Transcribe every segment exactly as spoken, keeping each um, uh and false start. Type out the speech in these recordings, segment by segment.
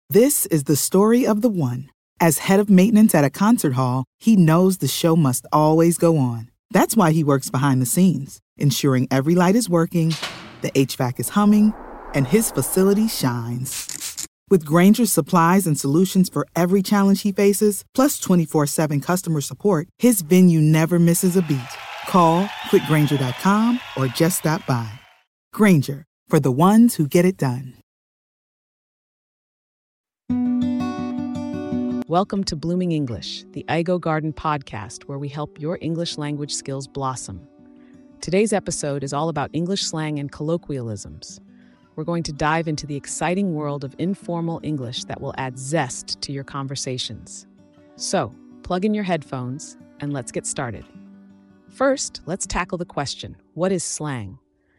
This is the story of the one. As head of maintenance at a concert hall, he knows the show must always go on. That's why he works behind the scenes, ensuring every light is working, the H V A C is humming, and his facility shines. With Grainger's supplies and solutions for every challenge he faces, plus twenty-four seven customer support, his venue never misses a beat. Call quick grainger dot com or just stop by. Grainger, for the ones who get it done. Welcome to Blooming English, the I Go Garden podcast where we help your English language skills blossom. Today's episode is all about English slang and colloquialisms. We're going to dive into the exciting world of informal English that will add zest to your conversations. So, plug in your headphones and let's get started. First, let's tackle the question, what is slang?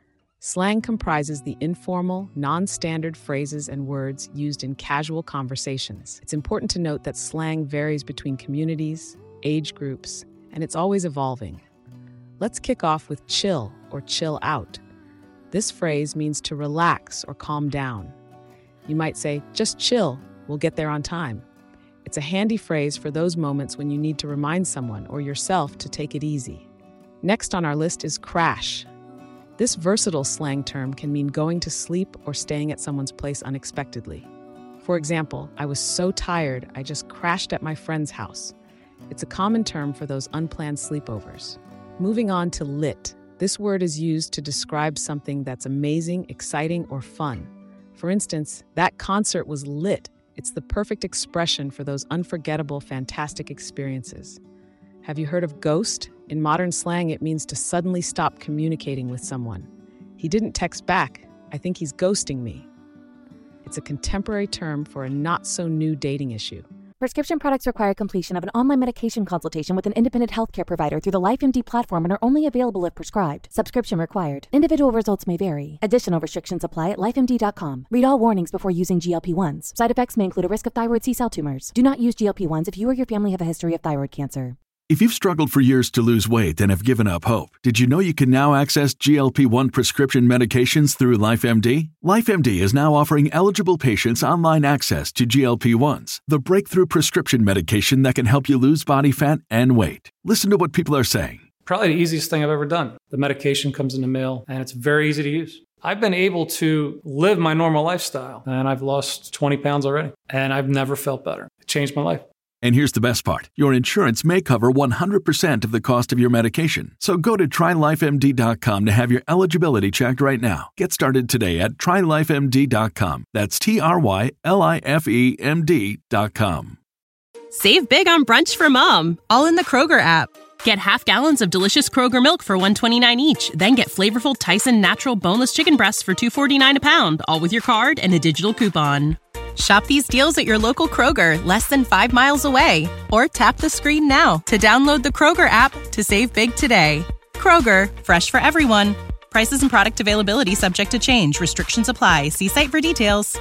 Slang comprises the informal, non-standard phrases and words used in casual conversations. It's important to note that slang varies between communities, age groups, and it's always evolving. Let's kick off with chill or chill out. This phrase means to relax or calm down. You might say, just chill, we'll get there on time. It's a handy phrase for those moments when you need to remind someone or yourself to take it easy. Next on our list is crash. This versatile slang term can mean going to sleep or staying at someone's place unexpectedly. For example, I was so tired, I just crashed at my friend's house. It's a common term for those unplanned sleepovers. Moving on to lit. This word is used to describe something that's amazing, exciting, or fun. For instance, that concert was lit. It's the perfect expression for those unforgettable, fantastic experiences. Have you heard of ghost? In modern slang, it means to suddenly stop communicating with someone. He didn't text back. I think he's ghosting me. It's a contemporary term for a not-so-new dating issue. Prescription products require completion of an online medication consultation with an independent healthcare provider through the LifeMD platform and are only available if prescribed. Subscription required. Individual results may vary. Additional restrictions apply at life M D dot com. Read all warnings before using G L P ones. Side effects may include a risk of thyroid C-cell tumors. Do not use G L P ones if you or your family have a history of thyroid cancer. If you've struggled for years to lose weight and have given up hope, did you know you can now access G L P one prescription medications through LifeMD? LifeMD is now offering eligible patients online access to G L P ones, the breakthrough prescription medication that can help you lose body fat and weight. Listen to what people are saying. Probably the easiest thing I've ever done. The medication comes in the mail, and it's very easy to use. I've been able to live my normal lifestyle, and I've lost twenty pounds already, and I've never felt better. It changed my life. And here's the best part. Your insurance may cover one hundred percent of the cost of your medication. So go to try life M D dot com to have your eligibility checked right now. Get started today at try life M D dot com. That's T R Y L I F E M D dot com. Save big on brunch for mom, all in the Kroger app. Get half gallons of delicious Kroger milk for one dollar and twenty-nine cents each. Then get flavorful Tyson natural boneless chicken breasts for two dollars and forty-nine cents a pound, all with your card and a digital coupon. Shop these deals at your local Kroger, less than five miles away. Or tap the screen now to download the Kroger app to save big today. Kroger, fresh for everyone. Prices and product availability subject to change. Restrictions apply. See site for details.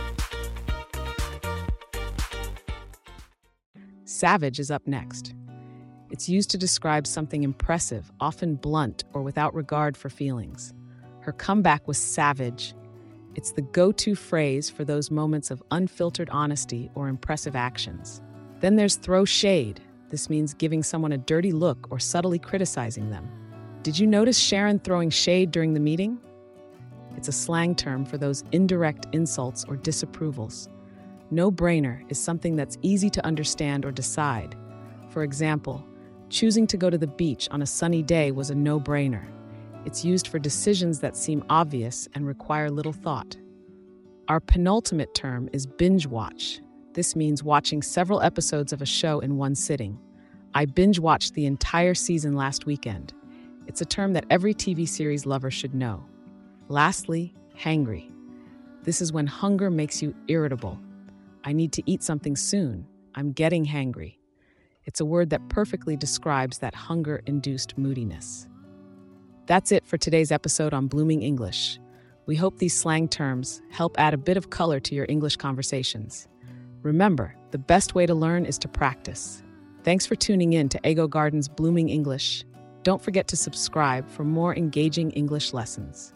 Savage is up next. It's used to describe something impressive, often blunt or without regard for feelings. Her comeback was savage. It's the go-to phrase for those moments of unfiltered honesty or impressive actions. Then there's throw shade. This means giving someone a dirty look or subtly criticizing them. Did you notice Sharon throwing shade during the meeting? It's a slang term for those indirect insults or disapprovals. No-brainer is something that's easy to understand or decide. For example, choosing to go to the beach on a sunny day was a no-brainer. It's used for decisions that seem obvious and require little thought. Our penultimate term is binge watch. This means watching several episodes of a show in one sitting. I binge watched the entire season last weekend. It's a term that every T V series lover should know. Lastly, hangry. This is when hunger makes you irritable. I need to eat something soon. I'm getting hangry. It's a word that perfectly describes that hunger-induced moodiness. That's it for today's episode on Blooming English. We hope these slang terms help add a bit of color to your English conversations. Remember, the best way to learn is to practice. Thanks for tuning in to I Go Garden's Blooming English. Don't forget to subscribe for more engaging English lessons.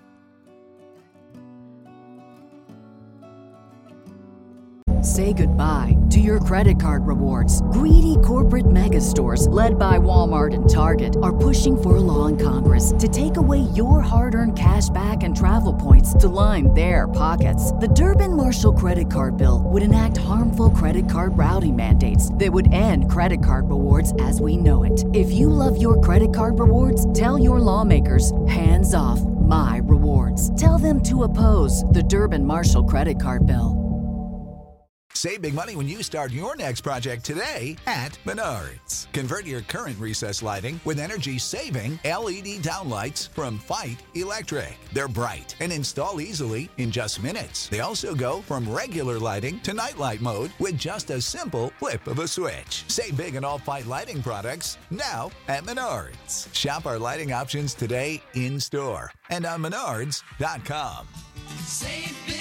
say goodbye to your credit card rewards. Greedy corporate mega stores, led by Walmart and Target, are pushing for a law in Congress to take away your hard-earned cash back and travel points to line their pockets. The Durbin-Marshall credit card bill would enact harmful credit card routing mandates that would end credit card rewards as we know it. If you love your credit card rewards, tell your lawmakers, hands off my rewards. Tell them to oppose the Durbin-Marshall credit card bill. Save big money when you start your next project today at Menards. Convert your current recessed lighting with energy-saving L E D downlights from Fight Electric. They're bright and install easily in just minutes. They also go from regular lighting to nightlight mode with just a simple flip of a switch. Save big on all Fight lighting products now at Menards. Shop our lighting options today in-store and on menards dot com. Save big.